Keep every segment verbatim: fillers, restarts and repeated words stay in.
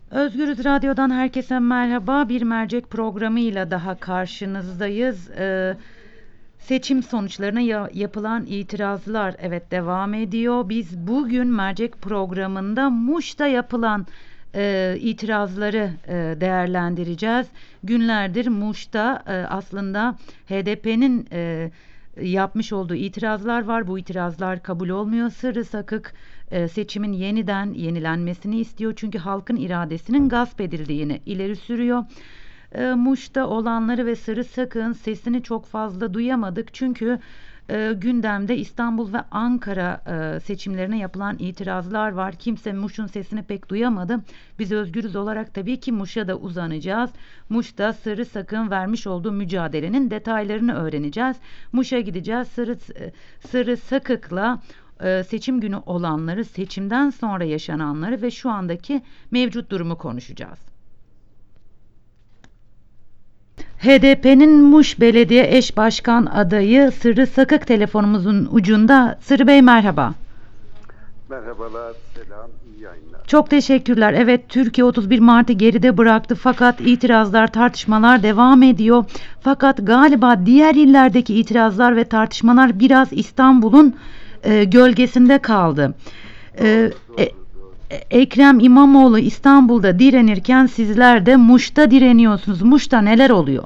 Özgürüz Radyo'dan herkese merhaba. Bir mercek programıyla daha karşınızdayız. Ee, seçim sonuçlarına ya- yapılan itirazlar evet devam ediyor. Biz bugün mercek programında Muş'ta yapılan e, itirazları e, değerlendireceğiz. Günlerdir Muş'ta e, aslında H D P'nin e, yapmış olduğu itirazlar var. Bu itirazlar kabul olmuyor. Sırrı Sakık e, seçimin yeniden yenilenmesini istiyor. Çünkü halkın iradesinin gasp edildiğini ileri sürüyor. E, Muş'ta olanları ve Sırrı Sakık'ın sesini çok fazla duyamadık. Çünkü e, gündemde İstanbul ve Ankara e, seçimlerine yapılan itirazlar var. Kimse Muş'un sesini pek duyamadı. Biz Özgürüz olarak tabii ki Muş'a da uzanacağız. Muş'ta Sırrı Sakık'ın vermiş olduğu mücadelenin detaylarını öğreneceğiz. Muş'a gideceğiz. Sırrı, Sırrı Sakık'la e, seçim günü olanları, seçimden sonra yaşananları ve şu andaki mevcut durumu konuşacağız. H D P'nin Muş Belediye Eş Başkan adayı Sırrı Sakık telefonumuzun ucunda. Sırrı Bey merhaba. Merhabalar, selam, iyi yayınlar. Çok teşekkürler. Evet, Türkiye otuz bir Mart'ı geride bıraktı fakat itirazlar, tartışmalar devam ediyor. Fakat galiba diğer illerdeki itirazlar ve tartışmalar biraz İstanbul'un e, gölgesinde kaldı. E, Doğru, e, doğru, doğru. Ekrem İmamoğlu İstanbul'da direnirken sizler de Muş'ta direniyorsunuz. Muş'ta neler oluyor?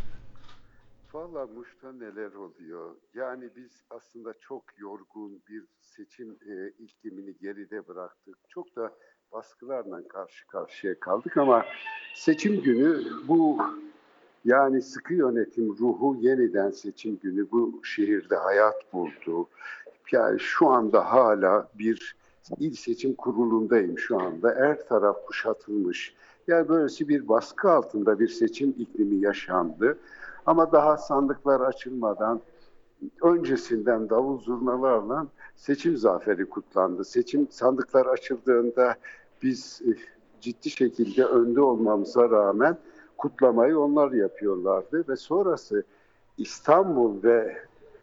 Valla Muş'ta neler oluyor? Yani biz aslında çok yorgun bir seçim e, iklimini geride bıraktık. Çok da baskılarla karşı karşıya kaldık ama seçim günü bu yani sıkı yönetim ruhu yeniden seçim günü bu şehirde hayat buldu. Yani şu anda hala bir il seçim kurulundayım şu anda. Her taraf kuşatılmış. Yani böylesi bir baskı altında bir seçim iklimi yaşandı. Ama daha sandıklar açılmadan öncesinden davul zurnalarla seçim zaferi kutlandı. Seçim sandıklar açıldığında biz e, ciddi şekilde önde olmamıza rağmen kutlamayı onlar yapıyorlardı ve sonrası İstanbul ve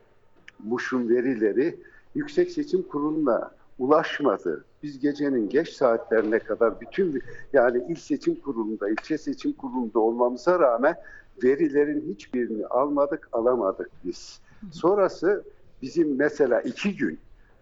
Muş'un verileri Yüksek Seçim Kurulu'na ulaşmadı. Biz gecenin geç saatlerine kadar bütün yani il seçim kurulunda, ilçe seçim kurulunda olmamıza rağmen verilerin hiçbirini almadık, alamadık biz. Sonrası bizim mesela iki gün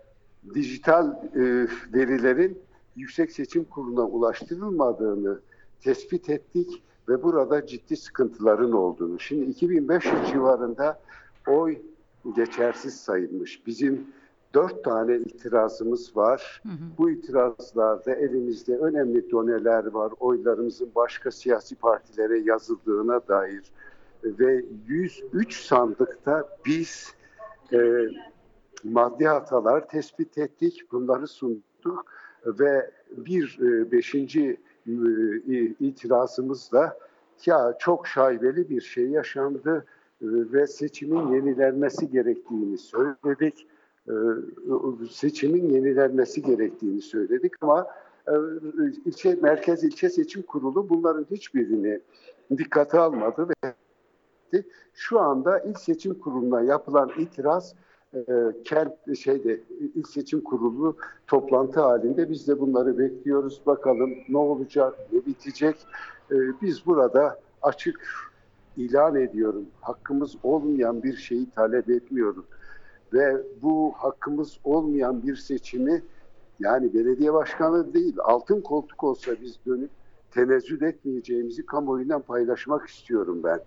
dijital e, verilerin Yüksek Seçim Kurulu'na ulaştırılmadığını tespit ettik ve burada ciddi sıkıntıların olduğunu. Şimdi iki bin beş yüz civarında oy geçersiz sayılmış. Bizim dört tane itirazımız var. Hı hı. Bu itirazlarda elimizde önemli doneler var. Oylarımızın başka siyasi partilere yazıldığına dair ve yüz üç sandıkta biz e, maddi hatalar tespit ettik, bunları sunduk ve bir e, beşinci e, itirazımızda ya çok şaibeli bir şey yaşandı e, ve seçimin yenilenmesi gerektiğini söyledik. E, seçimin yenilenmesi gerektiğini söyledik ama e, ilçe merkez ilçe seçim kurulu bunların hiçbirini dikkate almadı ve şu anda il seçim kuruluna yapılan itiraz e, kent şeyde il seçim kurulu toplantı halinde biz de bunları bekliyoruz. Bakalım ne olacak, ne bitecek. E, biz burada açık ilan ediyorum. Hakkımız olmayan bir şeyi talep etmiyoruz. Ve bu hakkımız olmayan bir seçimi yani belediye başkanı değil altın koltuk olsa biz dönüp tenezzül etmeyeceğimizi kamuoyuyla paylaşmak istiyorum ben.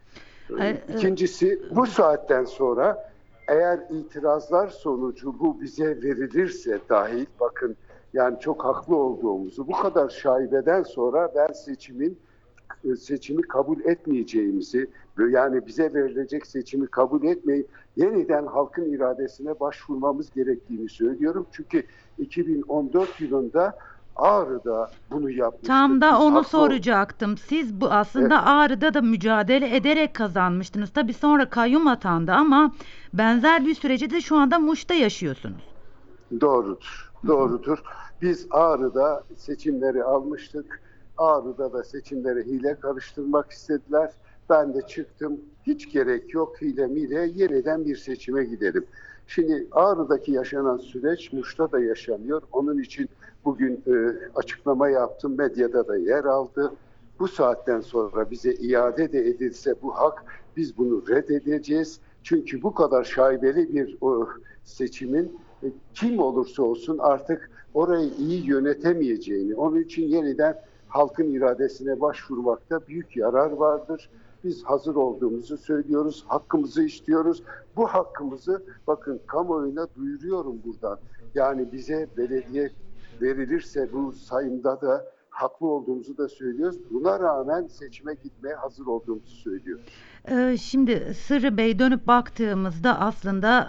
İkincisi bu saatten sonra eğer itirazlar sonucu bu bize verilirse dahil bakın yani çok haklı olduğumuzu bu kadar şaibeden sonra ben seçimin seçimi kabul etmeyeceğimizi yani bize verilecek seçimi kabul etmeyip yeniden halkın iradesine başvurmamız gerektiğini söylüyorum. Çünkü iki bin on dört yılında Ağrı'da bunu yapmıştık. Tam da Biz onu haklı... soracaktım. Siz bu aslında Evet. Ağrı'da da mücadele ederek kazanmıştınız. Tabii sonra kayyum atandı ama benzer bir süreci de şu anda Muş'ta yaşıyorsunuz. Doğrudur, doğrudur. Biz Ağrı'da seçimleri almıştık. Ağrı'da da seçimleri hile karıştırmak istediler. Ben de çıktım. Hiç gerek yok hile mile yeniden bir seçime gidelim. Şimdi Ağrı'daki yaşanan süreç Muş'ta da yaşanıyor. Onun için bugün e, açıklama yaptım, medyada da yer aldı. Bu saatten sonra bize iade de edilse bu hak, biz bunu reddedeceğiz. Çünkü bu kadar şaibeli bir o, seçimin e, kim olursa olsun artık orayı iyi yönetemeyeceğini, onun için yeniden halkın iradesine başvurmakta büyük yarar vardır. Biz hazır olduğumuzu söylüyoruz, hakkımızı istiyoruz. Bu hakkımızı bakın kamuoyuna duyuruyorum buradan. Yani bize belediye verilirse bu sayımda da haklı olduğumuzu da söylüyoruz. Buna rağmen seçime gitmeye hazır olduğumuzu söylüyoruz. Ee, Şimdi Sırrı Bey, dönüp baktığımızda aslında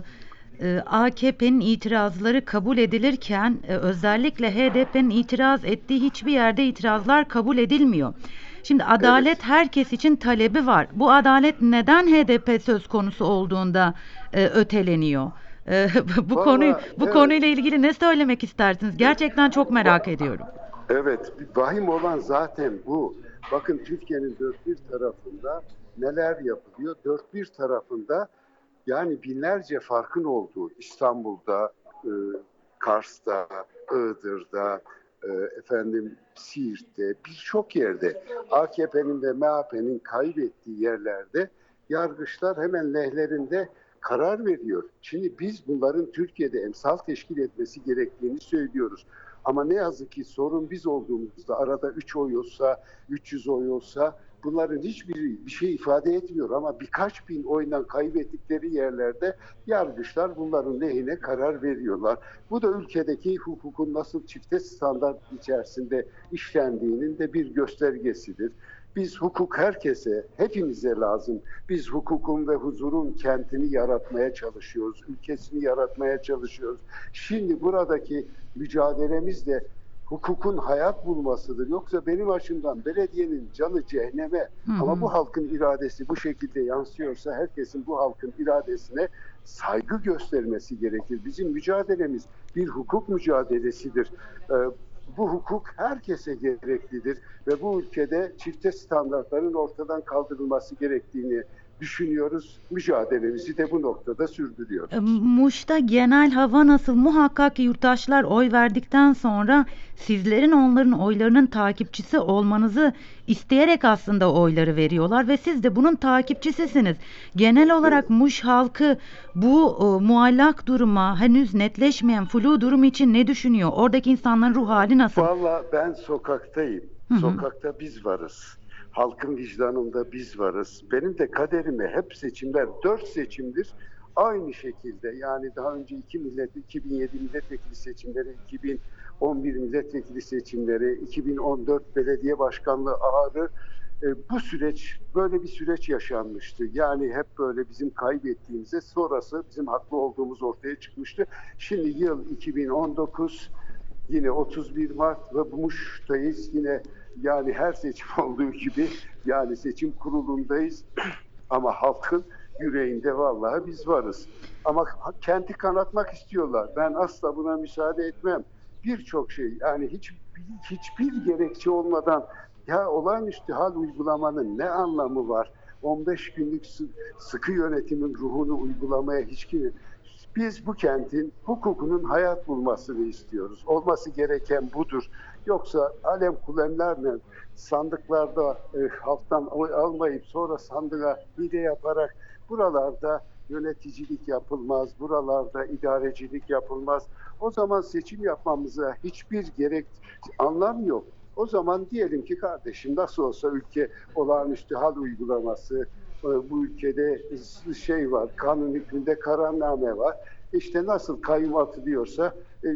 e, e, A K P'nin itirazları kabul edilirken e, özellikle H D P'nin itiraz ettiği hiçbir yerde itirazlar kabul edilmiyor. Şimdi adalet Evet. herkes için talebi var. Bu adalet neden H D P söz konusu olduğunda e, öteleniyor? E, bu konuyu Vallahi bu evet. konuyla ilgili ne söylemek istersiniz? Gerçekten çok merak ediyorum. Evet, vahim olan zaten bu. Bakın Türkiye'nin dört bir tarafında neler yapılıyor? Dört bir tarafında yani binlerce farkın olduğu İstanbul'da, e, Kars'ta, Iğdır'da, e, efendim Siirt'te birçok yerde A K P'nin ve M H P'nin kaybettiği yerlerde yargıçlar hemen lehlerinde karar veriyor. Şimdi biz bunların Türkiye'de emsal teşkil etmesi gerektiğini söylüyoruz. Ama ne yazık ki sorun biz olduğumuzda arada üç oy olsa, üç yüz oy olsa bunların hiçbiri bir şey ifade etmiyor. Ama birkaç bin oyla kaybettikleri yerlerde yargıçlar bunların lehine karar veriyorlar. Bu da ülkedeki hukukun nasıl çifte standart içerisinde işlendiğinin de bir göstergesidir. Biz hukuk herkese, hepimize lazım. Biz hukukun ve huzurun kentini yaratmaya çalışıyoruz, ülkesini yaratmaya çalışıyoruz. Şimdi buradaki mücadelemiz de hukukun hayat bulmasıdır. Yoksa benim açımdan belediyenin canı cehenneme. Hı hı. Ama bu halkın iradesi bu şekilde yansıyorsa herkesin bu halkın iradesine saygı göstermesi gerekir. Bizim mücadelemiz bir hukuk mücadelesidir. Ee, bu hukuk herkese gereklidir ve bu ülkede çifte standartların ortadan kaldırılması gerektiğini düşünüyoruz. Mücadelemizi de bu noktada sürdürüyoruz. E, Muş'ta genel hava nasıl? Muhakkak ki yurttaşlar oy verdikten sonra sizlerin onların oylarının takipçisi olmanızı isteyerek aslında oyları veriyorlar ve siz de bunun takipçisisiniz. Genel olarak Muş halkı bu e, muallak duruma, henüz netleşmeyen flu durum için ne düşünüyor? Oradaki insanların ruh hali nasıl? Valla ben sokaktayım. Hı hı. Sokakta biz varız. Halkın vicdanında biz varız. Benim de kaderime hep seçimler, dört seçimdir aynı şekilde. Yani daha önce iki millet, iki bin yedi milletvekili seçimleri, iki bin on bir milletvekili seçimleri, iki bin on dört belediye başkanlığı ağrı. E, bu süreç, böyle bir süreç yaşanmıştı. Yani hep böyle bizim kaybettiğimize sonrası bizim haklı olduğumuz ortaya çıkmıştı. Şimdi yıl iki bin on dokuz, yine otuz bir Mart ve Muş'tayız. Yine yani her seçim olduğu gibi yani seçim kurulundayız. Ama halkın yüreğinde vallahi biz varız. Ama kenti kanatmak istiyorlar. Ben asla buna müsaade etmem. Birçok şey yani hiç hiçbir gerekçe olmadan ya olağanüstü hal uygulamanın ne anlamı var? on beş günlük sıkı yönetimin ruhunu uygulamaya hiç kim. Biz bu kentin hukukunun hayat bulmasını istiyoruz. Olması gereken budur. Yoksa alem kulemlerle sandıklarda e, halktan oy almayıp sonra sandığa hile yaparak buralarda yöneticilik yapılmaz, buralarda idarecilik yapılmaz. O zaman seçim yapmamıza hiçbir gerek anlam yok. O zaman diyelim ki kardeşim nasıl olsa ülke olağanüstü hal uygulaması, bu ülkede şey var, kanun hükmünde kararname var. İşte nasıl kayyum atılıyorsa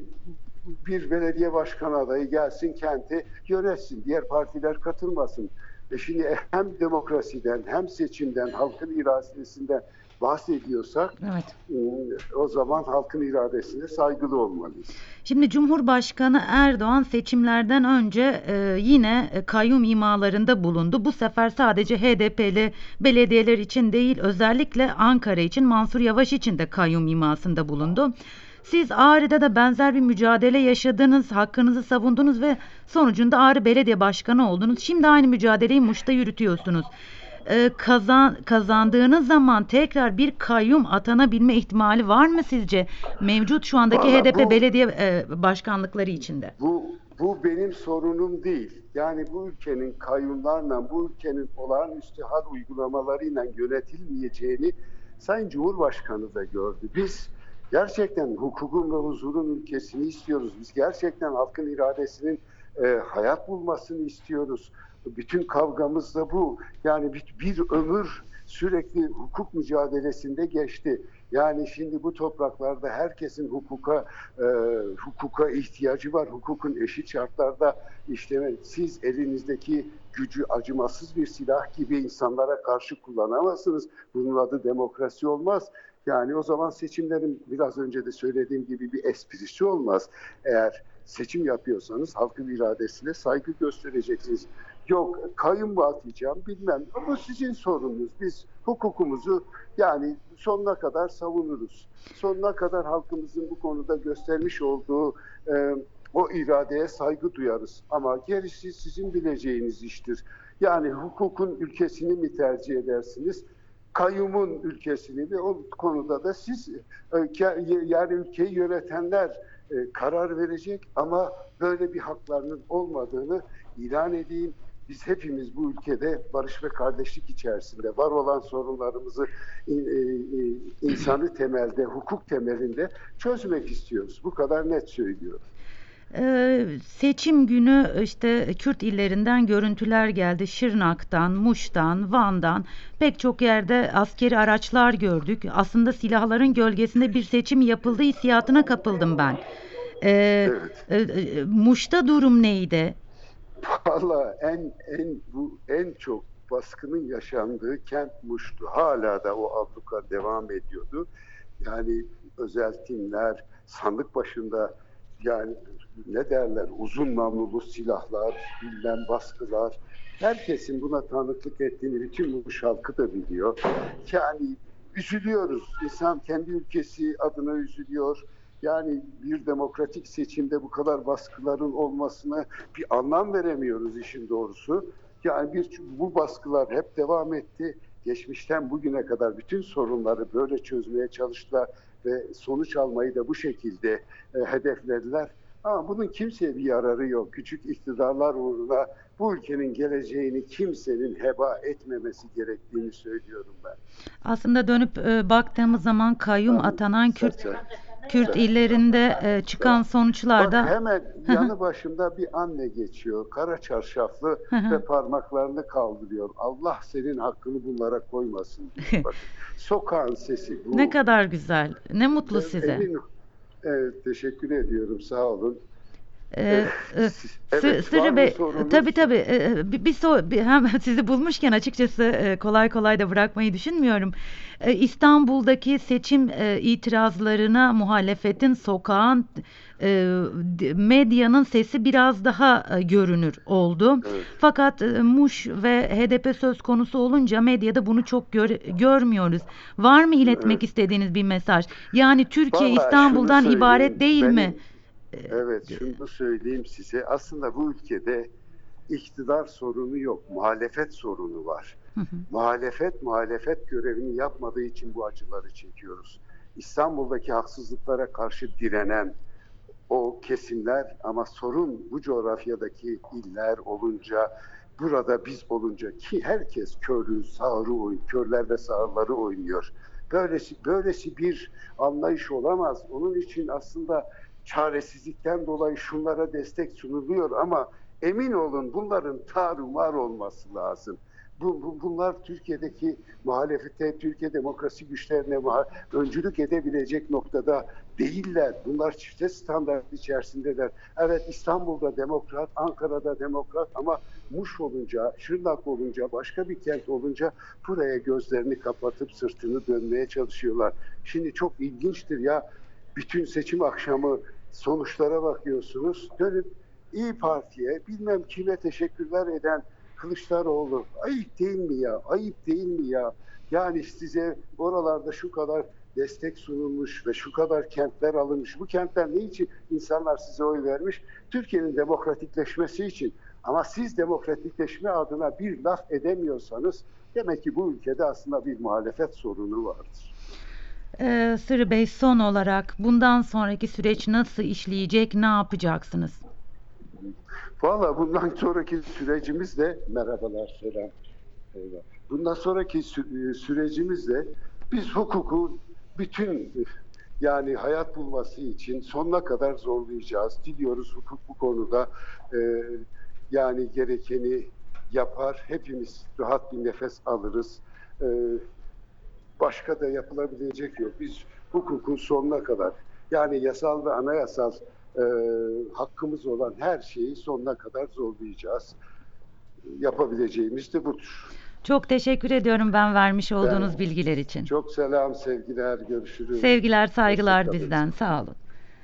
bir belediye başkan adayı gelsin kenti yönetsin, diğer partiler katılmasın. E şimdi hem demokrasiden hem seçimden, halkın iradesinden bahsediyorsak Evet. o zaman halkın iradesine saygılı olmalıyız. Şimdi Cumhurbaşkanı Erdoğan seçimlerden önce e, yine e, kayyum imalarında bulundu. Bu sefer sadece H D P'li belediyeler için değil, özellikle Ankara için, Mansur Yavaş için de kayyum imasında bulundu. Siz Ağrı'da da benzer bir mücadele yaşadınız, hakkınızı savundunuz ve sonucunda Ağrı Belediye Başkanı oldunuz. Şimdi aynı mücadeleyi Muş'ta yürütüyorsunuz. e, kazan kazandığınız zaman tekrar bir kayyum atanabilme ihtimali var mı sizce? Mevcut şu andaki Valla H D P bu belediye e, başkanlıkları içinde. Bu, bu benim sorunum değil. Yani bu ülkenin kayyumlarla, bu ülkenin olağanüstü hal uygulamalarıyla yönetilmeyeceğini Sayın Cumhurbaşkanı da gördü. Biz gerçekten hukukun ve huzurun ülkesini istiyoruz. Biz gerçekten halkın iradesinin e, hayat bulmasını istiyoruz. Bütün kavgamız da bu. Yani bir, bir ömür sürekli hukuk mücadelesinde geçti. Yani şimdi bu topraklarda herkesin hukuka e, hukuka ihtiyacı var. Hukukun eşit şartlarda işleme. Siz elinizdeki gücü acımasız bir silah gibi insanlara karşı kullanamazsınız. Bunun adı demokrasi olmaz. Yani o zaman seçimlerin biraz önce de söylediğim gibi bir esprisi olmaz. Eğer seçim yapıyorsanız halkın iradesine saygı göstereceksiniz. Yok kayyum mu atacağım bilmem. Bu sizin sorununuz. Biz hukukumuzu yani sonuna kadar savunuruz. Sonuna kadar halkımızın bu konuda göstermiş olduğu e, o iradeye saygı duyarız. Ama gerisi sizin bileceğiniz iştir. Yani hukukun ülkesini mi tercih edersiniz? Kayyumun ülkesini ve o konuda da siz e, yani ülkeyi yönetenler e, karar verecek ama böyle bir haklarının olmadığını ilan edeyim. Biz hepimiz bu ülkede barış ve kardeşlik içerisinde var olan sorunlarımızı e, e, insani temelde, hukuk temelinde çözmek istiyoruz. Bu kadar net söylüyorum. Ee, seçim günü işte Kürt illerinden görüntüler geldi. Şırnak'tan, Muş'tan, Van'dan pek çok yerde askeri araçlar gördük. Aslında silahların gölgesinde bir seçim yapıldığı hissiyatına kapıldım ben. Ee, Evet. e, e, Muş'ta durum neydi? Valla en en bu en çok baskının yaşandığı kent Muş'tu. Hala da o abluka devam ediyordu. Yani özel timler, sandık başında yani ne derler uzun namlulu silahlar, bilmem baskılar. Herkesin buna tanıklık ettiğini bütün Muş halkı da biliyor. Yani üzülüyoruz. İnsan kendi ülkesi adına üzülüyor. Yani bir demokratik seçimde bu kadar baskıların olmasına bir anlam veremiyoruz işin doğrusu. Yani bir, bu baskılar hep devam etti. Geçmişten bugüne kadar bütün sorunları böyle çözmeye çalıştılar ve sonuç almayı da bu şekilde e, hedeflediler. Ama bunun kimseye bir yararı yok. Küçük iktidarlar uğruna bu ülkenin geleceğini kimsenin heba etmemesi gerektiğini söylüyorum ben. Aslında dönüp e, baktığımız zaman kayyum Ben, atanan Kürt Serçe, Kürt illerinde e, çıkan Bak sonuçlarda. hemen yanı başımda bir anne geçiyor. Kara çarşaflı ve parmaklarını kaldırıyor. Allah senin hakkını bunlara koymasın diyor. Bakın sokağın sesi Ne bu. kadar güzel. Ne mutlu E, size. Emin Evet, teşekkür ediyorum. Sağ olun. Ee, E, e, Sı- Evet, var Sırrı mı Bey, tabii sorunuz? tabii e, bir, bir, so- bir- hem sizi bulmuşken açıkçası e, kolay kolay da bırakmayı düşünmüyorum. E, İstanbul'daki seçim e, itirazlarına muhalefetin, sokağın, e, d- medyanın sesi biraz daha e, görünür oldu. Evet, Fakat e, Muş ve H D P söz konusu olunca medyada bunu çok gör- görmüyoruz. Var mı iletmek evet. istediğiniz bir mesaj? Yani Türkiye Vallahi şunu İstanbul'dan ibaret söyleyeyim. değil mi? Benim Evet, şunu söyleyeyim size. Aslında bu ülkede iktidar sorunu yok, muhalefet sorunu var. Hı hı. Muhalefet, muhalefet görevini yapmadığı için bu acıları çekiyoruz. İstanbul'daki haksızlıklara karşı direnen o kesimler ama sorun bu coğrafyadaki iller olunca, burada biz olunca ki herkes körü, sağırı oynuyor, körler ve sağırları oynuyor. Böylesi, böylesi bir anlayış olamaz. Onun için aslında çaresizlikten dolayı şunlara destek sunuluyor ama emin olun bunların tarumar olması lazım. Bu, bu, bunlar Türkiye'deki muhalefete, Türkiye demokrasi güçlerine öncülük edebilecek noktada değiller. Bunlar çifte standart içerisindeler. Evet İstanbul'da demokrat, Ankara'da demokrat ama Muş olunca, Şırnak olunca, başka bir kent olunca buraya gözlerini kapatıp sırtını dönmeye çalışıyorlar. Şimdi çok ilginçtir ya, bütün seçim akşamı sonuçlara bakıyorsunuz. Dönüp İyi Parti'ye bilmem kime teşekkürler eden Kılıçdaroğlu. Ayıp değil mi ya? Ayıp değil mi ya? Yani size oralarda şu kadar destek sunulmuş ve şu kadar kentler alınmış. Bu kentler ne için insanlar size oy vermiş? Türkiye'nin demokratikleşmesi için. Ama siz demokratikleşme adına bir laf edemiyorsanız demek ki bu ülkede aslında bir muhalefet sorunu vardır. Ee, Sırrı Bey, son olarak bundan sonraki süreç nasıl işleyecek, ne yapacaksınız? Valla bundan sonraki sürecimiz de merhabalar, selam. Eyvallah. Bundan sonraki sü- e, sürecimizde biz hukuku bütün yani hayat bulması için sonuna kadar zorlayacağız. Diliyoruz hukuk bu konuda e, yani gerekeni yapar. Hepimiz rahat bir nefes alırız. E, Başka da yapılabilecek yok. Biz hukuku sonuna kadar yani yasal ve anayasal e, hakkımız olan her şeyi sonuna kadar zorlayacağız. Yapabileceğimiz de budur. Çok teşekkür ediyorum ben vermiş Ben olduğunuz bilgiler için. çok selam, sevgiler, görüşürüz. Sevgiler, saygılar Hoşça kalın. bizden. Sağ olun.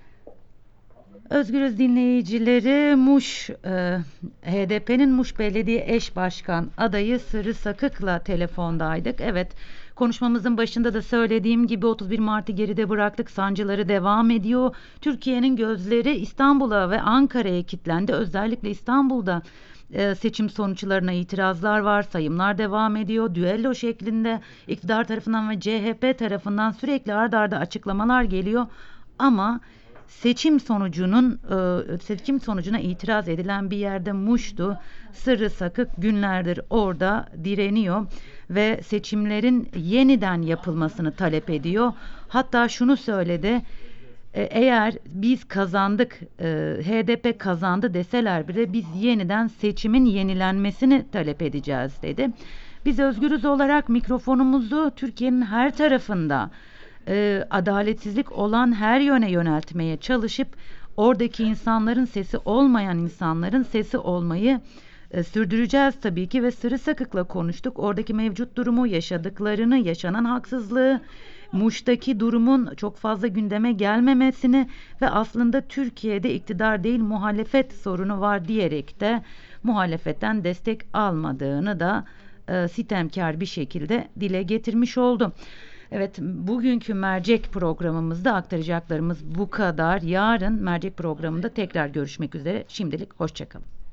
Özgürüz dinleyicileri, Muş, e, H D P'nin Muş Belediye Eş Başkan adayı Sırrı Sakık'la telefondaydık. Evet, konuşmamızın başında da söylediğim gibi otuz bir Mart'ı geride bıraktık. Sancıları devam ediyor. Türkiye'nin gözleri İstanbul'a ve Ankara'ya kilitlendi. Özellikle İstanbul'da e, seçim sonuçlarına itirazlar var. Sayımlar devam ediyor. Düello şeklinde iktidar tarafından ve C H P tarafından sürekli ard arda açıklamalar geliyor. Ama seçim sonucunun e, seçim sonucuna itiraz edilen bir yerde Muş'tu. Sırrı Sakık günlerdir orada direniyor ve seçimlerin yeniden yapılmasını talep ediyor. Hatta şunu söyledi: e, eğer biz kazandık, e, H D P kazandı deseler bile biz yeniden seçimin yenilenmesini talep edeceğiz dedi. Biz Özgürüz olarak mikrofonumuzu Türkiye'nin her tarafında e, adaletsizlik olan her yöne yöneltmeye çalışıp oradaki insanların sesi olmayan insanların sesi olmayı e, sürdüreceğiz tabii ki ve Sırrı Sakık'la konuştuk. Oradaki mevcut durumu, yaşadıklarını, yaşanan haksızlığı, Muş'taki durumun çok fazla gündeme gelmemesini ve aslında Türkiye'de iktidar değil muhalefet sorunu var diyerek de muhalefetten destek almadığını da e, sitemkar bir şekilde dile getirmiş oldu. Evet, bugünkü mercek programımızda aktaracaklarımız bu kadar. Yarın mercek programında tekrar görüşmek üzere. Şimdilik hoşça kalın.